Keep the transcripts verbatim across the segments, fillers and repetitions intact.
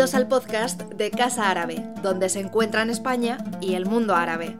Bienvenidos al podcast de Casa Árabe, donde se encuentran España y el mundo árabe.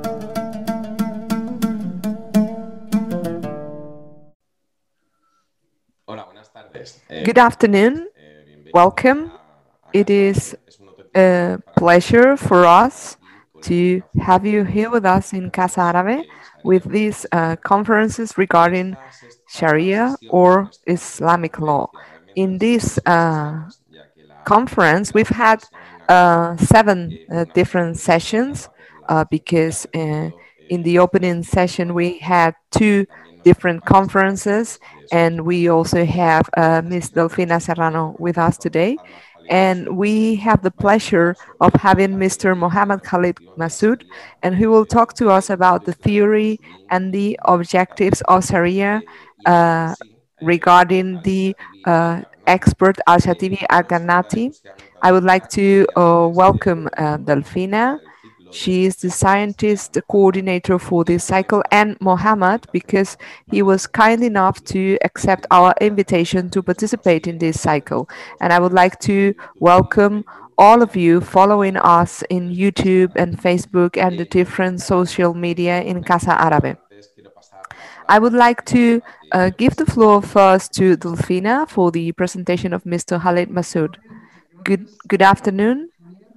Hola, buenas tardes. Good afternoon. Welcome. It is a pleasure for us to have you here with us in Casa Árabe with these uh, conferences regarding Sharia or Islamic law. In this uh, conference, we've had uh, seven uh, different sessions uh, because uh, in the opening session we had two different conferences, and we also have uh, Miss Delfina Serrano with us today. And we have the pleasure of having Mister Mohammed Khalid Masood, and he will talk to us about the theory and the objectives of Sharia uh, regarding the uh, expert Al-Shatibi Al-Ghanati. I would like to uh, welcome uh, Delfina. She is the scientist coordinator for this cycle, and Mohammed, because he was kind enough to accept our invitation to participate in this cycle. And I would like to welcome all of you following us in YouTube and Facebook and the different social media in Casa Árabe. I would like to uh, give the floor first to Delfina for the presentation of Mister Khalid Masood. Good, good afternoon.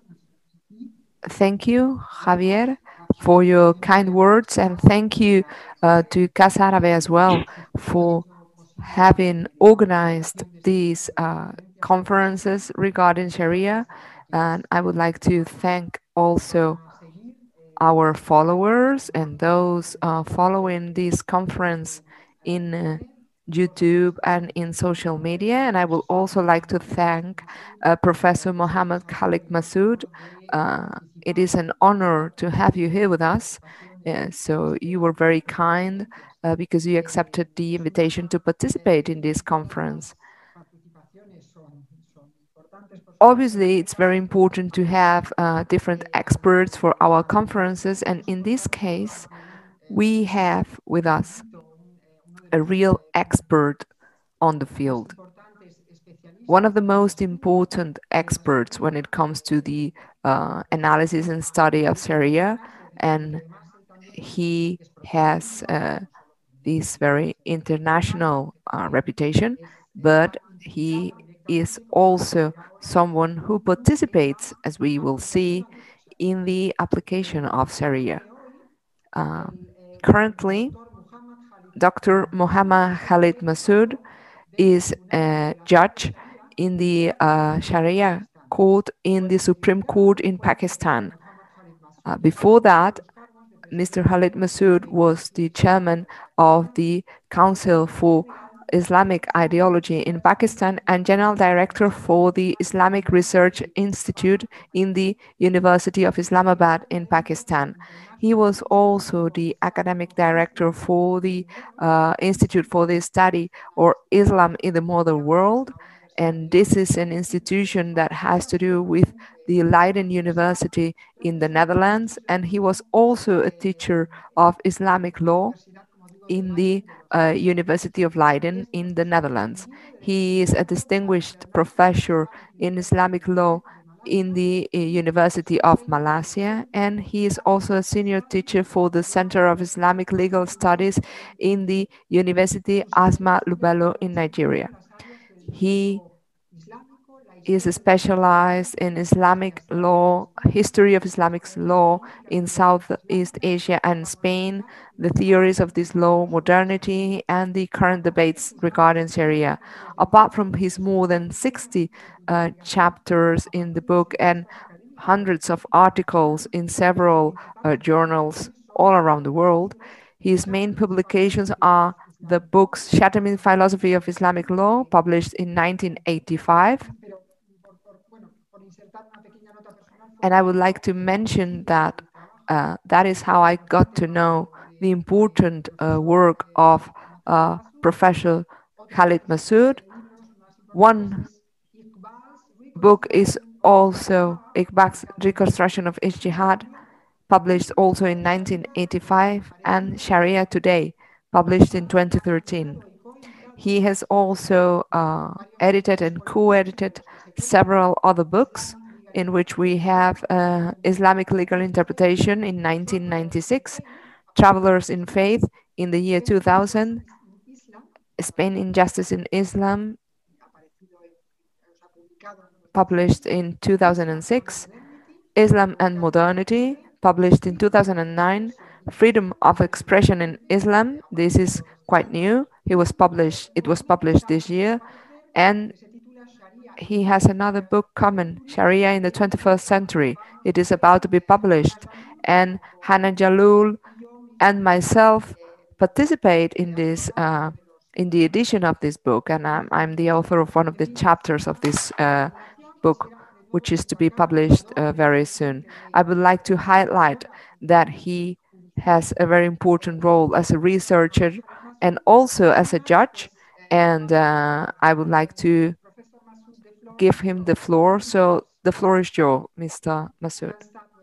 Thank you, Javier, for your kind words, and thank you uh, to Casa Árabe as well for having organized these uh, conferences regarding Sharia. And I would like to thank also our followers and those uh, following this conference in uh, YouTube and in social media. And I would also like to thank uh, Professor Mohammed Khalid Masood. Uh, it is an honor to have you here with us. Uh, so you were very kind uh, because you accepted the invitation to participate in this conference. Obviously, it's very important to have uh, different experts for our conferences, and in this case, we have with us a real expert on the field. One of the most important experts when it comes to the uh, analysis and study of Sharia, and he has uh, this very international uh, reputation, but he is also someone who participates, as we will see, in the application of Sharia. Uh, Currently, Doctor Mohammed Khalid Masood is a judge in the uh, Sharia court in the Supreme Court in Pakistan. Uh, before that, Mister Khalid Masood was the chairman of the Council for Islamic Ideology in Pakistan and general director for the Islamic Research Institute in the University of Islamabad in Pakistan. He was also the academic director for the uh, Institute for the Study or Islam in the Modern World. And this is an institution that has to do with the Leiden University in the Netherlands. And he was also a teacher of Islamic law in the uh, University of Leiden in the Netherlands. He is a distinguished professor in Islamic law in the uh, University of Malaysia, and he is also a senior teacher for the Center of Islamic Legal Studies in the University Asma Lubello in Nigeria. He is specialized in Islamic law, history of Islamic law in Southeast Asia and Spain, the theories of this law, modernity, and the current debates regarding Sharia. Apart from his more than sixty uh, chapters in the book and hundreds of articles in several uh, journals all around the world, his main publications are the books Shatterman Philosophy of Islamic Law, published in nineteen eighty-five, and I would like to mention that uh, that is how I got to know the important uh, work of uh, Professor Khalid Masood. One book is also Iqbal's Reconstruction of Ijtihad, published also in nineteen eighty-five, and Sharia Today, published in twenty thirteen. He has also uh, edited and co-edited several other books in which we have uh, Islamic legal interpretation in nineteen ninety-six, Travelers in Faith in the year two thousand, Spain Injustice in Islam, published in two thousand six, Islam and Modernity, published in two thousand nine, Freedom of Expression in Islam, this is quite new, it was published, it was published this year, and he has another book coming, Sharia in the twenty-first century. It is about to be published, and Hannah Jalul and myself participate in this uh, in the edition of this book, and I'm, I'm the author of one of the chapters of this uh, book, which is to be published uh, very soon. I would like to highlight that he has a very important role as a researcher and also as a judge, and uh, I would like to give him the floor. So the floor is yours, Mister Masood.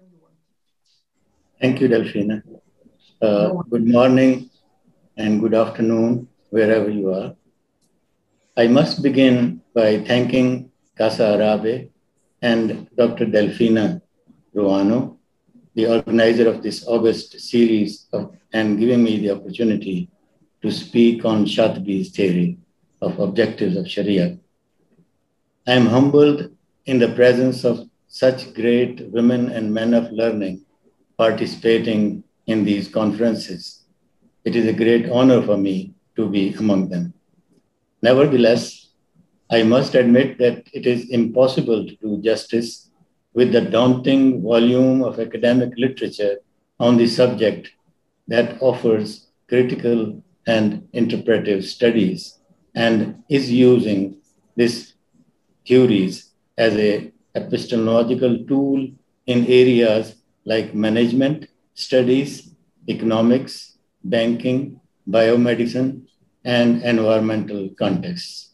Thank you, Delphina. Uh, good morning and good afternoon, wherever you are. I must begin by thanking Casa Arabe and Doctor Delphina Ruano, the organizer of this August series, of, and giving me the opportunity to speak on Shatibi's theory of objectives of Sharia. I am humbled in the presence of such great women and men of learning participating in these conferences. It is a great honor for me to be among them. Nevertheless, I must admit that it is impossible to do justice with the daunting volume of academic literature on the subject that offers critical and interpretive studies and is using these theories as an epistemological tool in areas like management, studies, economics, banking, biomedicine, and environmental contexts.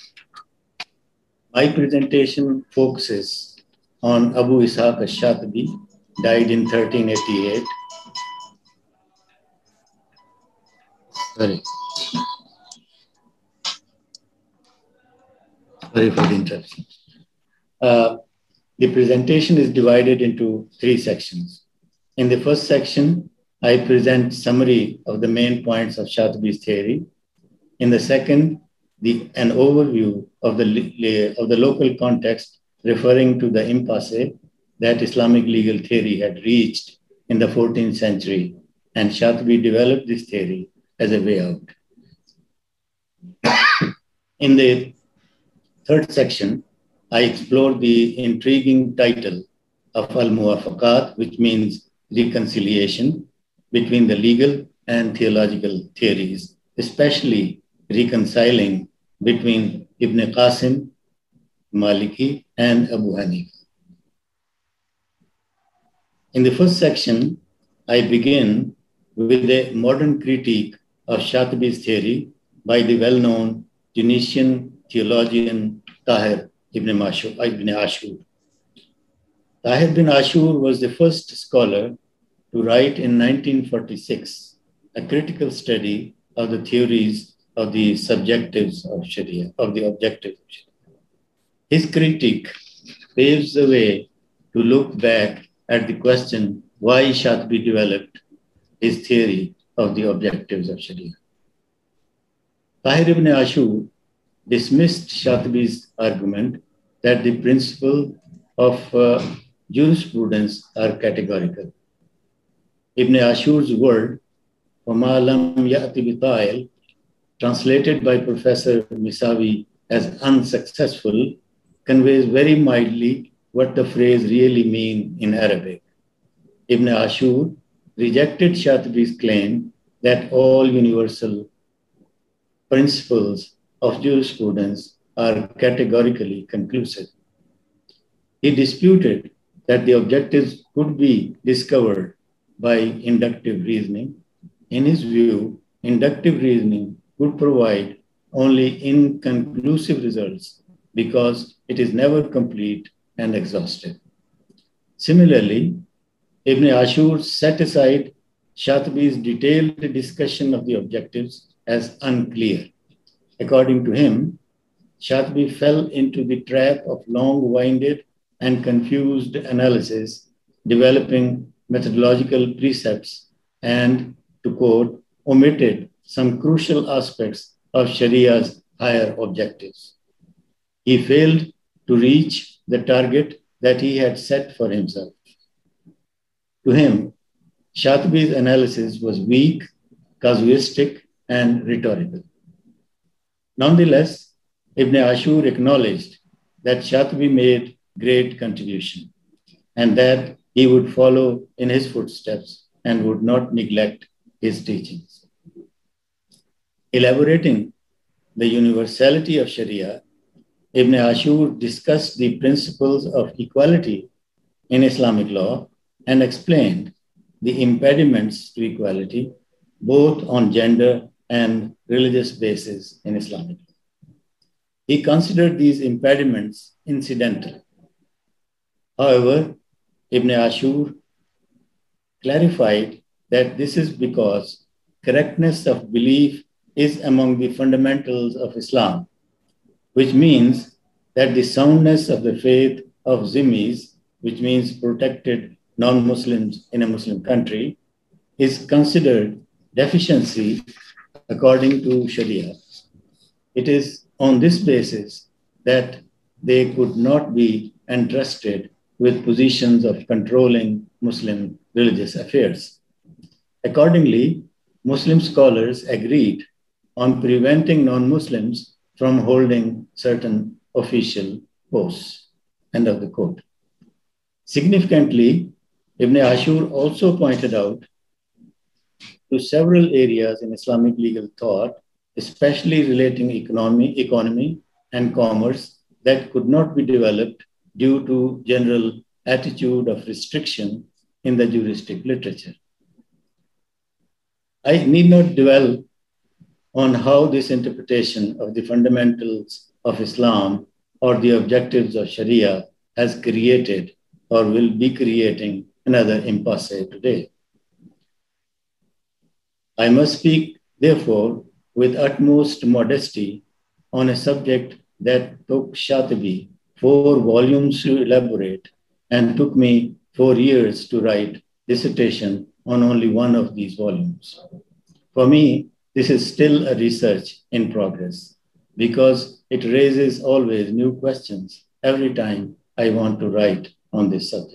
My presentation focuses on Abu Ishaq al-Shatibi, died in thirteen eighty-eight. Sorry. Sorry for the interruption. Uh, the presentation is divided into three sections. In the first section, I present summary of the main points of Shatibi's theory. In the second, the, an overview of the, of the local context referring to the impasse that Islamic legal theory had reached in the fourteenth century, and Shatibi developed this theory as a way out. In the third section, I explore the intriguing title of Al-Muwafaqat, which means reconciliation between the legal and theological theories, especially reconciling between Ibn Qasim, Maliki, and Abu Hanifa. In the first section, I begin with a modern critique of Shatibi's theory by the well-known Tunisian theologian Tahir ibn Ashur. Tahir ibn Ashur was the first scholar to write in nineteen forty-six a critical study of the theories of the subjectives of Sharia, of the objectives of Sharia. His critique paves the way to look back at the question why Shatibi developed his theory of the objectives of Sharia. Tahir ibn Ashur dismissed Shatibi's argument that the principle of uh, jurisprudence are categorical. Ibn Ashur's word, وَمَا لَمْ يَأْتِ بِطَائِلٍ, translated by Professor Misawi as unsuccessful, conveys very mildly what the phrase really means in Arabic. Ibn Ashur rejected Shatibi's claim that all universal principles of jurisprudence are categorically conclusive. He disputed that the objectives could be discovered by inductive reasoning. In his view, inductive reasoning would provide only inconclusive results because it is never complete and exhaustive. Similarly, Ibn Ashur set aside Shatibi's detailed discussion of the objectives as unclear. According to him, Shatibi fell into the trap of long-winded, and confused analysis, developing methodological precepts, and, to quote, omitted some crucial aspects of Sharia's higher objectives. He failed to reach the target that he had set for himself. To him, Shatibi's analysis was weak, casuistic, and rhetorical. Nonetheless, Ibn Ashur acknowledged that Shatibi made great contribution and that he would follow in his footsteps and would not neglect his teachings. Elaborating the universality of Sharia, Ibn Ashur discussed the principles of equality in Islamic law and explained the impediments to equality, both on gender and religious basis in Islamic law. He considered these impediments incidental. However, Ibn Ashur clarified that this is because correctness of belief is among the fundamentals of Islam, which means that the soundness of the faith of Zimmis, which means protected non-Muslims in a Muslim country, is considered deficiency according to Sharia. It is on this basis that they could not be entrusted with positions of controlling Muslim religious affairs. Accordingly, Muslim scholars agreed on preventing non-Muslims from holding certain official posts. End of the quote. Significantly, Ibn Ashur also pointed out to several areas in Islamic legal thought, especially relating economy, economy and commerce, that could not be developed due to general attitude of restriction in the juristic literature. I need not dwell on how this interpretation of the fundamentals of Islam or the objectives of Sharia has created or will be creating another impasse today. I must speak, therefore, with utmost modesty on a subject that took Shatibi four volumes to elaborate and took me four years to write dissertation on only one of these volumes. For me, this is still a research in progress because it raises always new questions every time I want to write on this subject.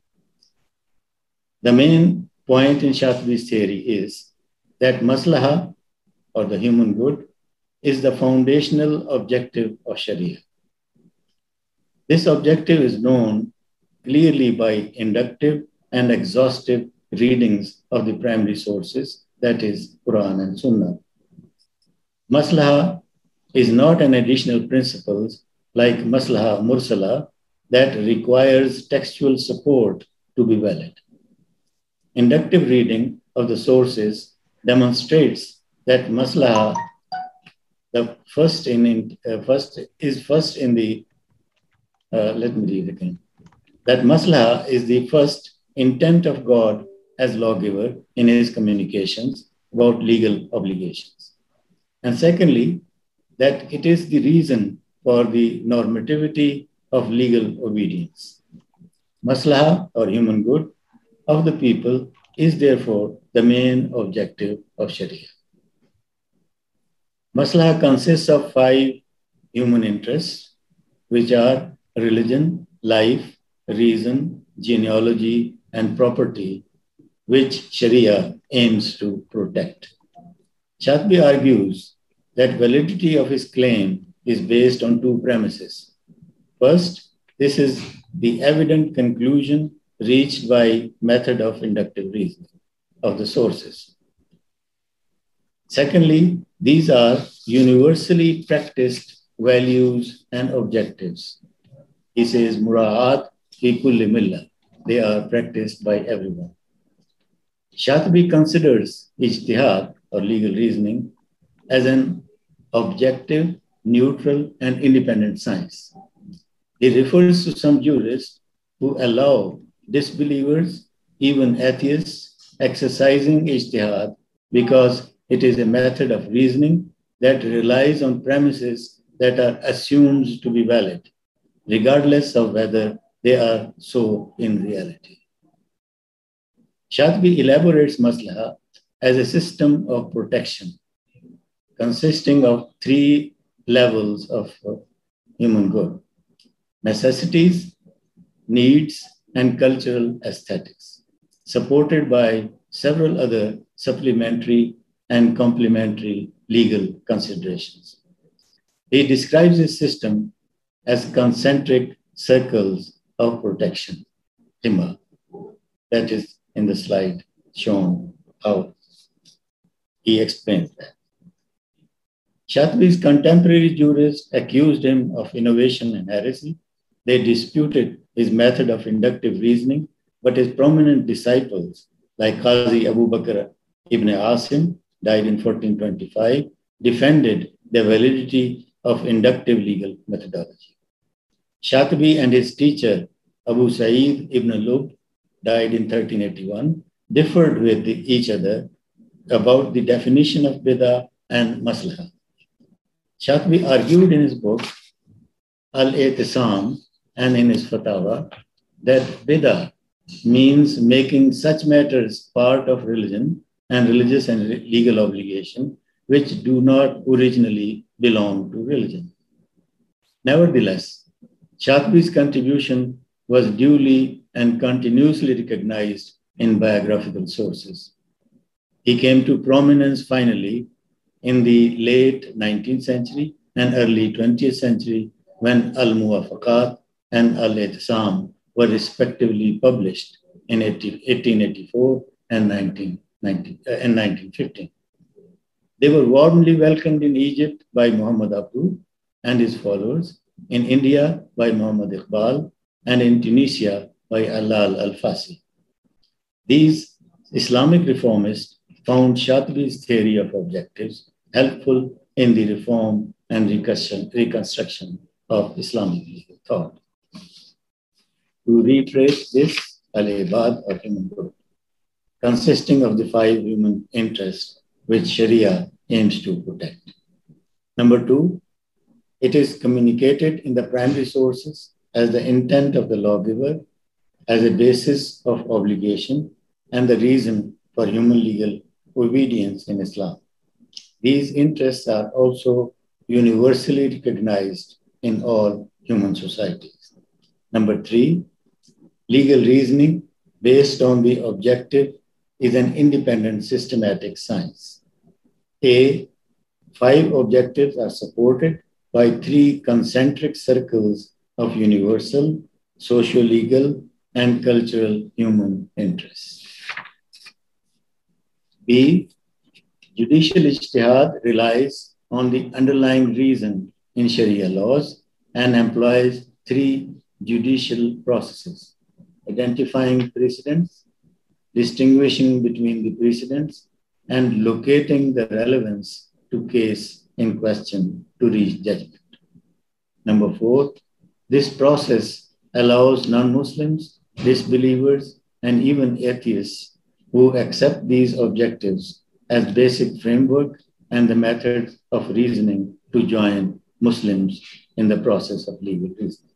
The main point in Shatibi's theory is that maslaha, or the human good, is the foundational objective of Sharia. This objective is known clearly by inductive and exhaustive readings of the primary sources, that is, Quran and Sunnah. Maslaha is not an additional principle like maslaha mursala that requires textual support to be valid. Inductive reading of the sources demonstrates that maslaha the first in uh, first is first in the uh, let me read again. That maslaha is the first intent of God as lawgiver in his communications about legal obligations. And secondly, that it is the reason for the normativity of legal obedience. Maslaha, or human good, of the people is therefore the main objective of Sharia. Maslaha consists of five human interests, which are religion, life, reason, genealogy, and property, which Sharia aims to protect. Shatibi argues that validity of his claim is based on two premises. First, this is the evident conclusion reached by method of inductive reasoning of the sources. Secondly, these are universally practiced values and objectives. He says, mura'at fi kulli millah. They are practiced by everyone. Shatibi considers ijtihad, or legal reasoning, as an objective, neutral, and independent science. He refers to some jurists who allow disbelievers, even atheists, exercising ijtihad because it is a method of reasoning that relies on premises that are assumed to be valid, regardless of whether they are so in reality. Shatibi elaborates maslaha as a system of protection consisting of three levels of human good: necessities, needs, and cultural aesthetics, supported by several other supplementary and complementary legal considerations. He describes his system as concentric circles of protection, hima. That is in the slide shown how he explains that. Shatibi's contemporary jurists accused him of innovation and heresy. They disputed his method of inductive reasoning, but his prominent disciples, like Qazi Abu Bakr ibn Asim, died in fourteen twenty-five, defended the validity of inductive legal methodology. Shatibi and his teacher, Abu Sa'id ibn Lub, died in thirteen eighty-one, differed with each other about the definition of bid'ah and maslaha. Shatibi argued in his book, Al-I'tisam, and in his fatwa, that bid'ah means making such matters part of religion and religious and legal obligation, which do not originally belong to religion. Nevertheless, Shatibi's contribution was duly and continuously recognized in biographical sources. He came to prominence finally in the late nineteenth century and early twentieth century when Al-Muwafaqat and Al-I'tisam were respectively published in eighteen eighty-four and nineteen fifteen. They were warmly welcomed in Egypt by Muhammad Abdu and his followers, in India by Muhammad Iqbal, and in Tunisia by Alal Al-Fasi. These Islamic reformists found Shatibi's theory of objectives helpful in the reform and reconstruction of Islamic legal thought. To reiterate this, al-ibad of human good, consisting of the five human interests which Sharia aims to protect. Number two, it is communicated in the primary sources as the intent of the lawgiver, as a basis of obligation, and the reason for human legal obedience in Islam. These interests are also universally recognized in all human societies. Number three, legal reasoning based on the objective is an independent systematic science. A, five objectives are supported by three concentric circles of universal, socio-legal, and cultural human interests. B, judicial ijtihad relies on the underlying reason in Sharia laws and employs three judicial processes: identifying precedents, distinguishing between the precedents, and locating the relevance to case in question to reach judgment. Number four, this process allows non-Muslims, disbelievers, and even atheists who accept these objectives as basic framework and the method of reasoning to join Muslims in the process of legal reasoning.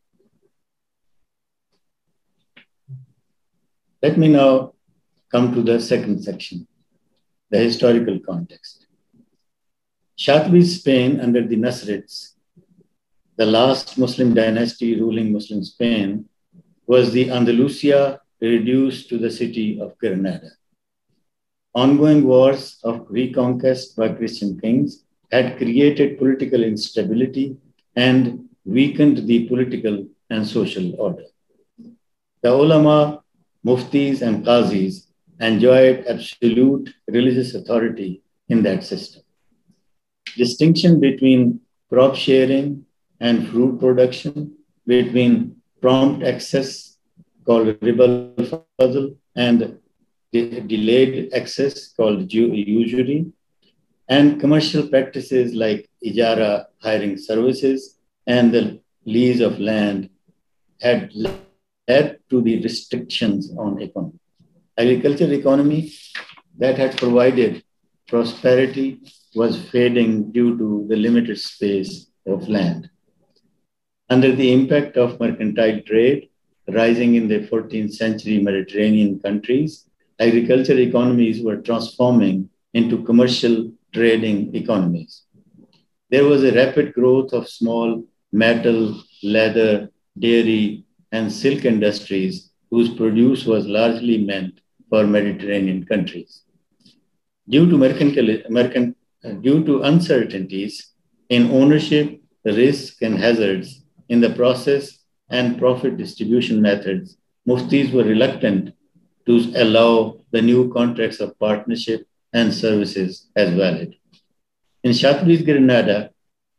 Let me now come to the second section, the historical context. Shatibi's Spain under the Nasrids, the last Muslim dynasty ruling Muslim Spain, was the Andalusia reduced to the city of Granada. Ongoing wars of reconquest by Christian kings had created political instability and weakened the political and social order. The ulama, muftis, and qazis enjoyed absolute religious authority in that system. Distinction between crop sharing and fruit production, between prompt access called riba al-fadl and de delayed access called usury, and commercial practices like ijara, hiring services, and the lease of land had led to the restrictions on economy. Agricultural economy that had provided prosperity was fading due to the limited space of land. Under the impact of mercantile trade, rising in the fourteenth century Mediterranean countries, agricultural economies were transforming into commercial trading economies. There was a rapid growth of small metal, leather, dairy, and silk industries whose produce was largely meant for Mediterranean countries. Due to, American, uh, due to uncertainties in ownership, risk, and hazards in the process and profit distribution methods, muftis were reluctant to allow the new contracts of partnership and services as valid. In Shatibi's Granada,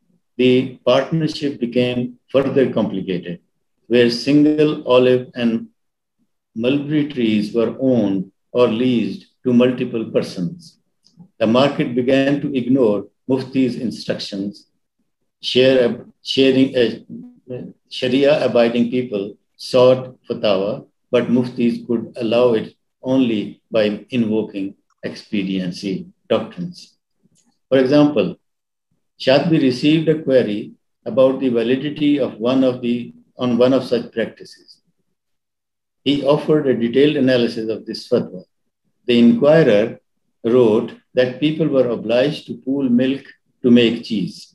the partnership became further complicated, where single olive and mulberry trees were owned or leased to multiple persons. The market began to ignore Mufti's instructions. Share, sharing, uh, Sharia-abiding people sought fatwa, but Muftis could allow it only by invoking expediency doctrines. For example, Shatibi received a query about the validity of one of the, on one of such practices. He offered a detailed analysis of this fatwa. The inquirer wrote that people were obliged to pool milk to make cheese.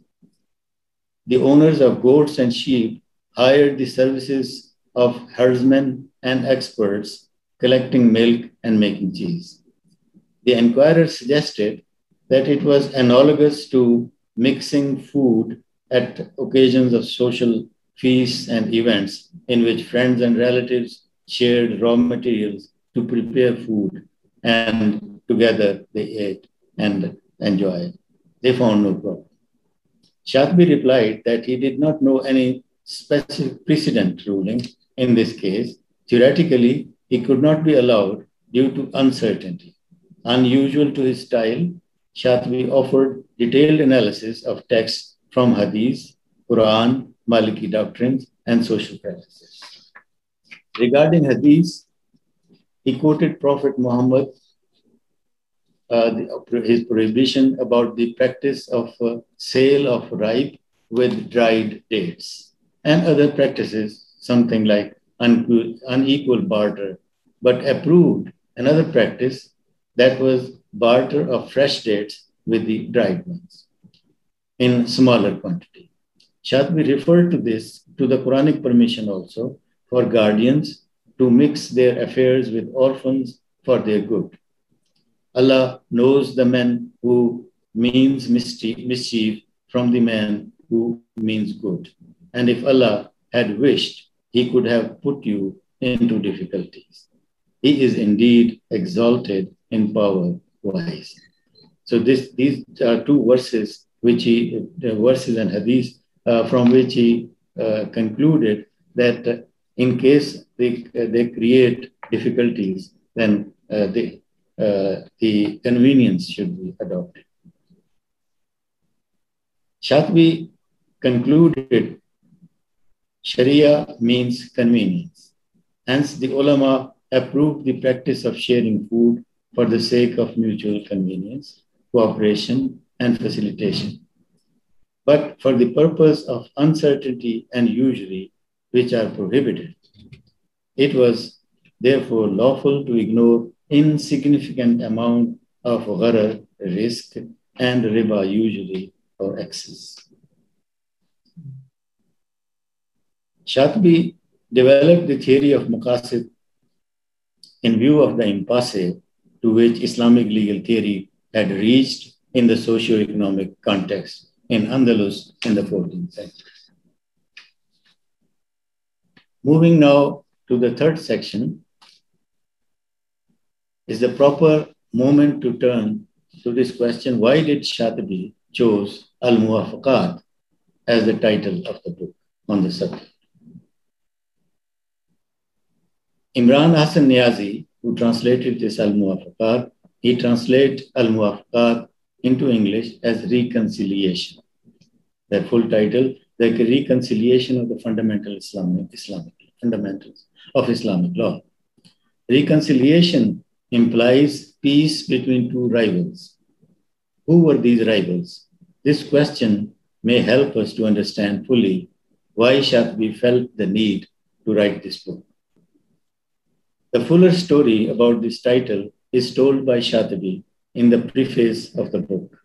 The owners of goats and sheep hired the services of herdsmen and experts collecting milk and making cheese. The inquirer suggested that it was analogous to mixing food at occasions of social feasts and events in which friends and relatives shared raw materials to prepare food, and together they ate and enjoyed. They found no problem. Shatibi replied that he did not know any specific precedent ruling in this case. Theoretically, he could not be allowed due to uncertainty. Unusual to his style, Shatibi offered detailed analysis of texts from Hadith, Quran, Maliki doctrines, and social practices. Regarding Hadith, he quoted Prophet Muhammad, uh, the, his prohibition about the practice of uh, sale of ripe with dried dates, and other practices, something like un- unequal barter, but approved another practice that was barter of fresh dates with the dried ones in smaller quantity. Shatibi referred to this, to the Quranic permission also, for guardians to mix their affairs with orphans for their good. Allah knows the man who means mischief from the man who means good. And if Allah had wished, he could have put you into difficulties. He is indeed exalted in power wise. So this, these are two verses, which he, the verses and hadith, uh, from which he uh, concluded that uh, in case they, uh, they create difficulties, then uh, they, uh, the convenience should be adopted. Shatibi concluded Sharia means convenience. Hence, the ulama approved the practice of sharing food for the sake of mutual convenience, cooperation, and facilitation. But for the purpose of uncertainty and usury, which are prohibited, it was therefore lawful to ignore insignificant amount of gharar, risk, and riba usury or excess. Shatibi developed the theory of maqasid in view of the impasse to which Islamic legal theory had reached in the socio-economic context in Andalus in the fourteenth century. Moving now to the third section, is the proper moment to turn to this question: why did Shatibi choose Al-Muwafaqat as the title of the book on the subject? Imran Hassan Niazi, who translated this Al-Muwafaqat, he translates Al-Muwafaqat into English as reconciliation. Their full title, the reconciliation of the fundamental Islamic, Islamic fundamentals of Islamic law. Reconciliation implies peace between two rivals. Who were these rivals? This question may help us to understand fully why Shatibi felt the need to write this book. The fuller story about this title is told by Shatibi in the preface of the book.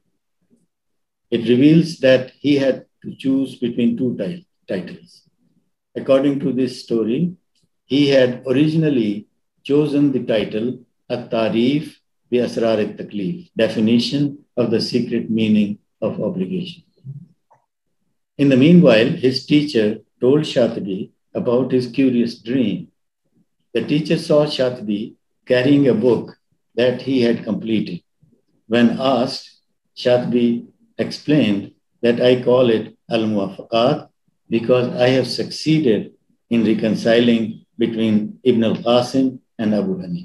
It reveals that he had to choose between two titles. According to this story, he had originally chosen the title At-Tarif bi Asrar al-Taklif, definition of the secret meaning of obligation. In the meanwhile, his teacher told Shatibi about his curious dream. The teacher saw Shatibi carrying a book that he had completed. When asked, Shatibi explained that I call it Al-Muwafaqat because I have succeeded in reconciling between Ibn al-Qasim and Abu Hanifa.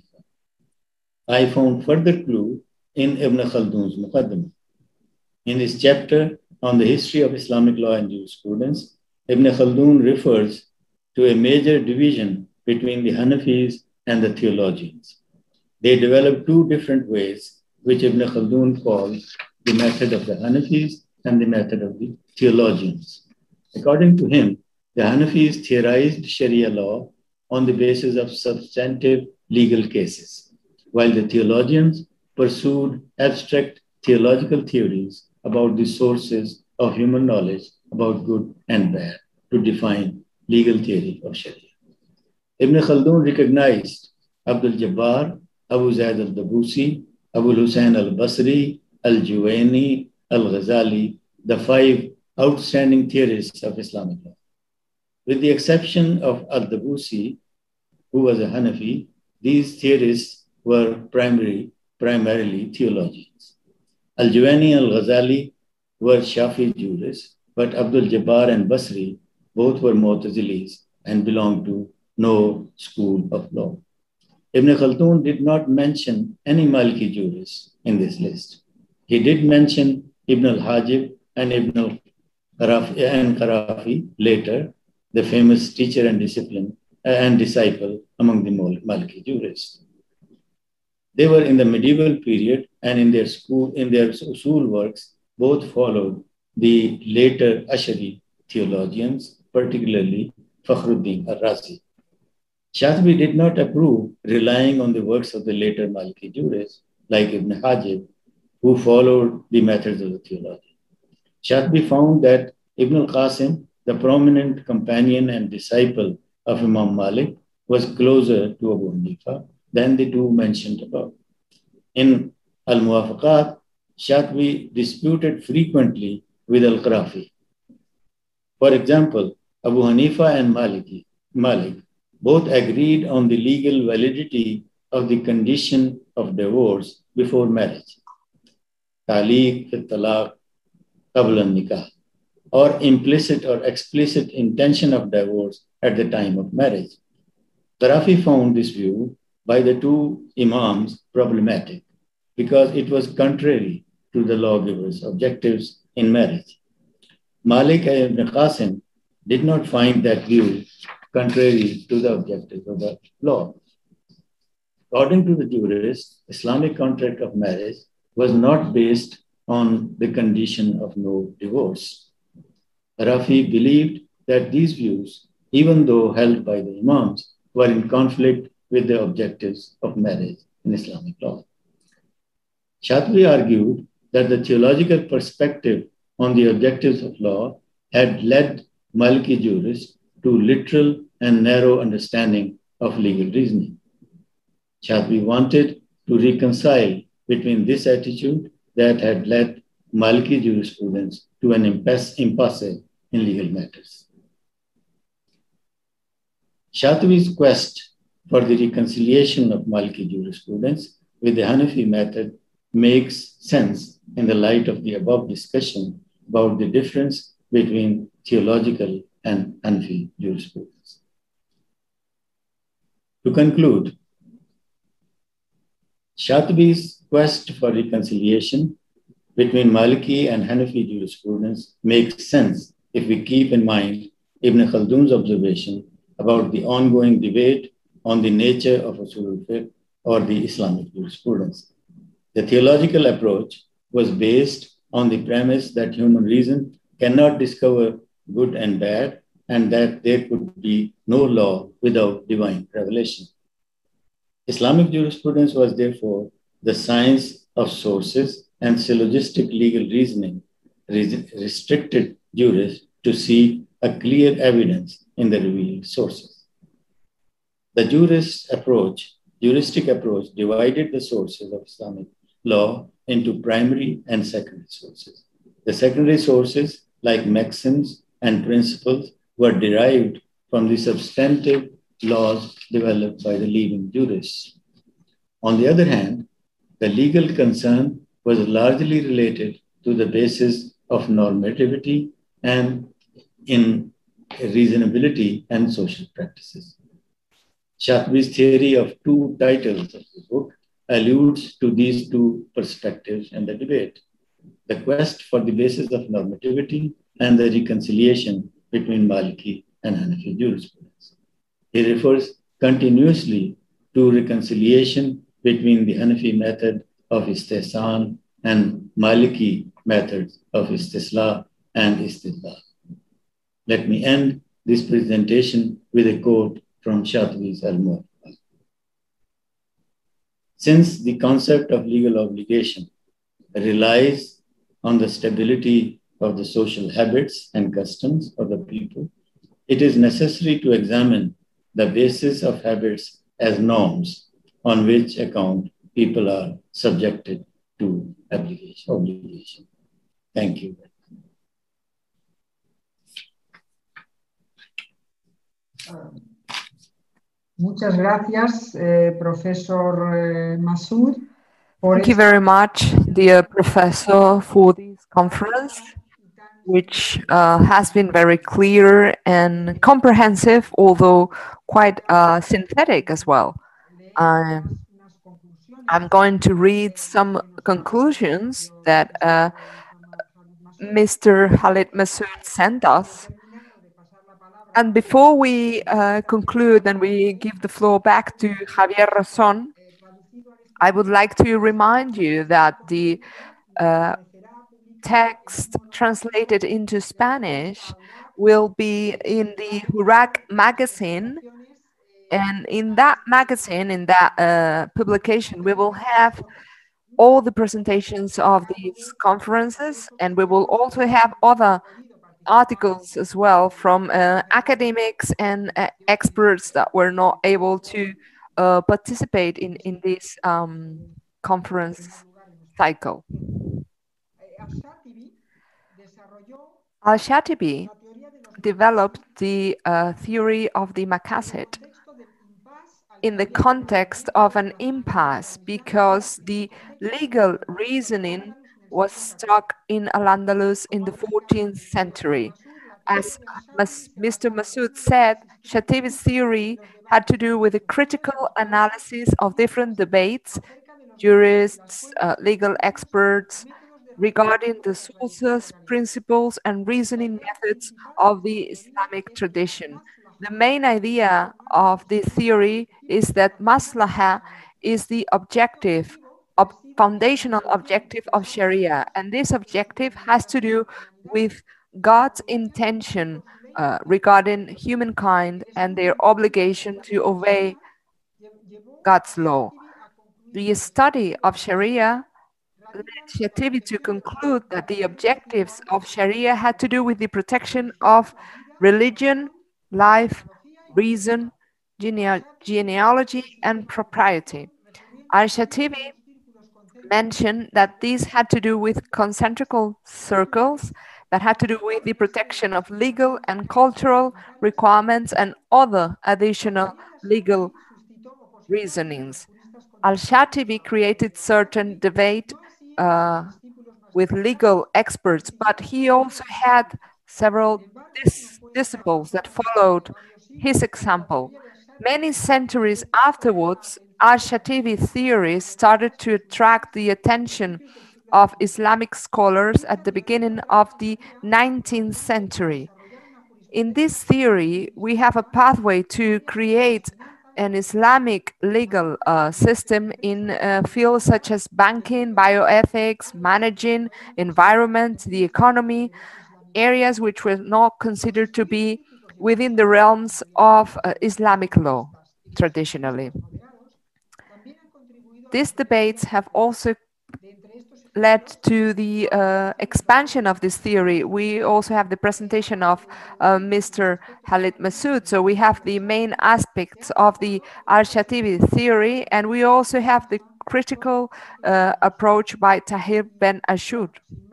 I found further clue in Ibn Khaldun's Muqaddimah. In his chapter on the history of Islamic law and jurisprudence, Ibn Khaldun refers to a major division between the Hanafis and the theologians. They developed two different ways, which Ibn Khaldun calls the method of the Hanafis and the method of the theologians. According to him, the Hanafis theorized Sharia law on the basis of substantive legal cases, while the theologians pursued abstract theological theories about the sources of human knowledge about good and bad to define legal theory of Sharia. Ibn Khaldun recognized Abdul Jabbar, Abu Zayd al-Dabusi, Abu Hussein al-Basri, al-Juwayni, al-Ghazali, the five outstanding theorists of Islamic law. With the exception of al-Dabusi, who was a Hanafi, these theorists were primary, primarily theologians. Al-Juwayni and al-Ghazali were Shafi jurists, but Abdul Jabbar and Basri both were Mu'tazilis and belonged to no school of law. Ibn Khaldun did not mention any Maliki jurists in this list. He did mention Ibn al-Hajib and Ibn al-Qarafi later, the famous teacher and discipline uh, and disciple among the Maliki jurists. They were in the medieval period, and in their school, in their usul works, both followed the later Ashari theologians, particularly Fakhruddin al-Razi. Shatibi did not approve relying on the works of the later Maliki jurists like Ibn Hajib, who followed the methods of the theology. Shatibi found that Ibn al-Qasim, the prominent companion and disciple of Imam Malik, was closer to Abu Hanifa than the two mentioned above. In Al-Muwafaqat, Shatibi disputed frequently with Al-Qarafi. For example, Abu Hanifa and Maliki, Malik both agreed on the legal validity of the condition of divorce before marriage, Taliq fi talaq qabla al-nikah, or implicit or explicit intention of divorce at the time of marriage. Qarafi found this view by the two Imams problematic because it was contrary to the lawgiver's objectives in marriage. Malik and Ibn Qasim did not find that view contrary to the objectives of the law. According to the jurists, Islamic contract of marriage was not based on the condition of no divorce. Rafi believed that these views, even though held by the Imams, were in conflict with the objectives of marriage in Islamic law. Shatibi argued that the theological perspective on the objectives of law had led Maliki jurists to literal and narrow understanding of legal reasoning. Shatibi wanted to reconcile between this attitude that had led Maliki jurisprudence to an impasse, impasse in legal matters. Shatibi's quest for the reconciliation of Maliki jurisprudence with the Hanafi method makes sense in the light of the above discussion about the difference between theological and Hanafi jurisprudence. To conclude, Shatibi's quest for reconciliation between Maliki and Hanafi jurisprudence makes sense if we keep in mind Ibn Khaldun's observation about the ongoing debate on the nature of usul al-fiqh or the Islamic jurisprudence. The theological approach was based on the premise that human reason cannot discover good and bad, and that there could be no law without divine revelation. Islamic jurisprudence was therefore the science of sources, and syllogistic legal reasoning restricted jurists to seek a clear evidence in the revealed sources. The jurist approach, juristic approach divided the sources of Islamic law into primary and secondary sources. The secondary sources, like maxims and principles, were derived from the substantive laws developed by the leading jurists. On the other hand, the legal concern was largely related to the basis of normativity and in reasonability and social practices. Shatibi's theory of two titles of the book alludes to these two perspectives in the debate: the quest for the basis of normativity and the reconciliation between Maliki and Hanafi jurisprudence. He refers continuously to reconciliation between the Hanafi method of istihsan and Maliki methods of istislah and istidlal. Let me end this presentation with a quote from Shatibi's Al-Muwaffaqah. Since the concept of legal obligation relies on the stability of the social habits and customs of the people, it is necessary to examine the basis of habits as norms on which account people are subjected to obligation. Thank you. Muchas gracias, eh, Professor eh, Massoud. Thank you very much, dear Professor, for this conference, which uh, has been very clear and comprehensive, although quite uh, synthetic as well. Uh, I'm going to read some conclusions that uh, Mister Khalid Massoud sent us. And before we uh, conclude and we give the floor back to Javier Razón, I would like to remind you that the uh, text translated into Spanish will be in the Hurak magazine. And in that magazine, in that uh, publication, we will have all the presentations of these conferences, and we will also have other articles as well from uh, academics and uh, experts that were not able to uh, participate in, in this um, conference cycle. Al-Shatibi developed the uh, theory of the maqasid in the context of an impasse because the legal reasoning was stuck in Al-Andalus in the fourteenth century. As Mister Massoud said, Shatibi's theory had to do with a critical analysis of different debates, jurists, uh, legal experts, regarding the sources, principles, and reasoning methods of the Islamic tradition. The main idea of this theory is that maslaha is the objective, ob foundational objective of Sharia, and this objective has to do with God's intention uh, regarding humankind and their obligation to obey God's law. The study of Sharia led Shatibi to conclude that the objectives of Sharia had to do with the protection of religion, life, reason, gene genealogy, and propriety. Al-Shatibi mentioned that these had to do with concentrical circles that had to do with the protection of legal and cultural requirements and other additional legal reasonings. Al-Shatibi created certain debate uh, with legal experts, but he also had several dis disciples that followed his example. Many centuries afterwards, Al-Shatibi's theories started to attract the attention of Islamic scholars at the beginning of the nineteenth century. In this theory, we have a pathway to create an Islamic legal uh, system in uh, fields such as banking, bioethics, managing, environment, the economy, areas which were not considered to be within the realms of uh, Islamic law traditionally. these debates have also led to the uh, expansion of this theory. We also have the presentation of uh, Mister Khalid Massoud. So we have the main aspects of the Al-Shatibi theory, and we also have the critical uh, approach by Tahir Ben Ashur.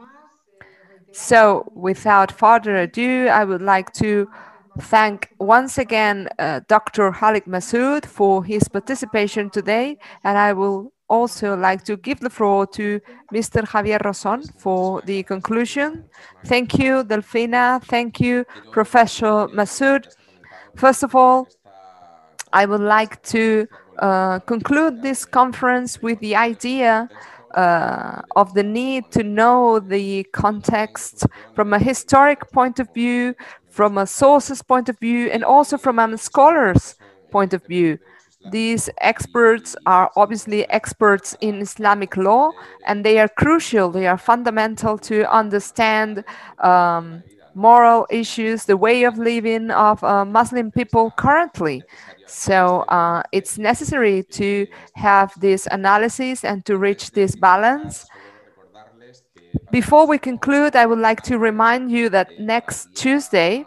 So without further ado, I would like to thank once again uh, Doctor Khalid Massoud for his participation today, and I will also like to give the floor to Mister Javier Roson for the conclusion. Thank you, Delfina. Thank you, Professor Massoud. First of all, I would like to uh, conclude this conference with the idea uh, of the need to know the context from a historic point of view, from a sources point of view, and also from a scholar's point of view. These experts are obviously experts in Islamic law, and they are crucial, they are fundamental to understand um, moral issues, the way of living of uh, Muslim people currently. So uh, it's necessary to have this analysis and to reach this balance. Before we conclude, I would like to remind you that next Tuesday,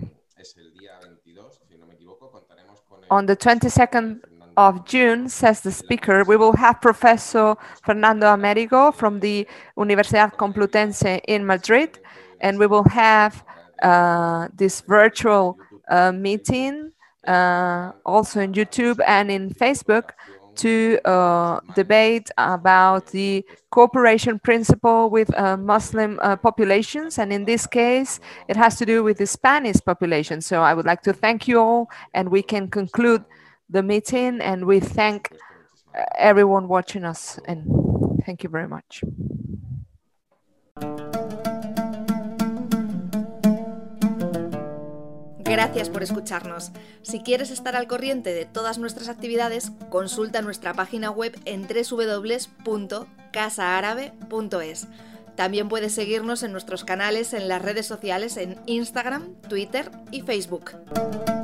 on the twenty-second of June, says the speaker, we will have Professor Fernando Américo from the Universidad Complutense in Madrid, and we will have uh, this virtual uh, meeting uh, also in YouTube and in Facebook to uh, debate about the cooperation principle with uh, Muslim uh, populations, and in this case it has to do with the Spanish population. So I would like to thank you all, and we can conclude the meeting, and we thank uh, everyone watching us, and thank you very much. Gracias por escucharnos. Si quieres estar al corriente de todas nuestras actividades, consulta nuestra página web en w w w punto casa árabe punto es. También puedes seguirnos en nuestros canales en las redes sociales en Instagram, Twitter y Facebook.